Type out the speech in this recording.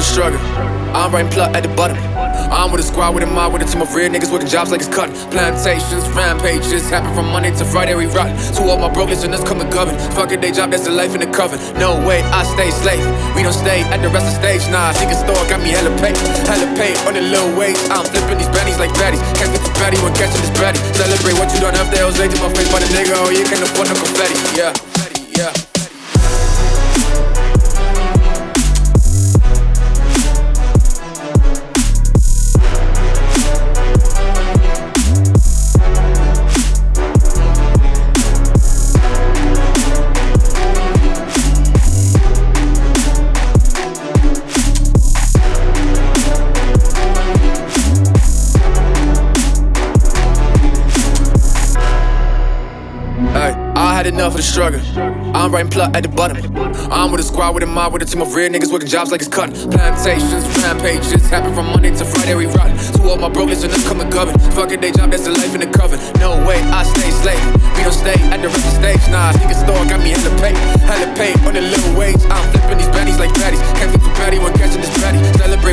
the struggle. I'm writing plot at the bottom. I'm with a squad, with a mob, with a team of real niggas working jobs like it's cutting. Plantations, rampages, happen from Monday to Friday, we rotten. Two of my broke listeners come and govern. Fuck a day job, that's the life in the coven. No way, I stay slave. We don't stay at the rest of the stage, nah. Secret store got me hella pay on the little wage. I'm flipping these baddies like baddies. Can't get the baddie when catching this baddie. Celebrate what you done after I was late to my face by the nigga. Oh, you can't afford no confetti, yeah, yeah. Enough of the struggle. I'm writing plot at the bottom. I'm with a squad, with a mob, with a team of real niggas working jobs like it's cutting. Plantations, rampages, happen from Monday to Friday, we rotten. Two of my broke listeners come and govern. Fuck a day job, that's the life in the coven. No way, I stay slave. We don't stay at the rest of the stage, nah. Secret store got me hella pay on the little wage. I'm flipping these baddies like baddies. Can't get too baddie when catching this baddie. Celebrate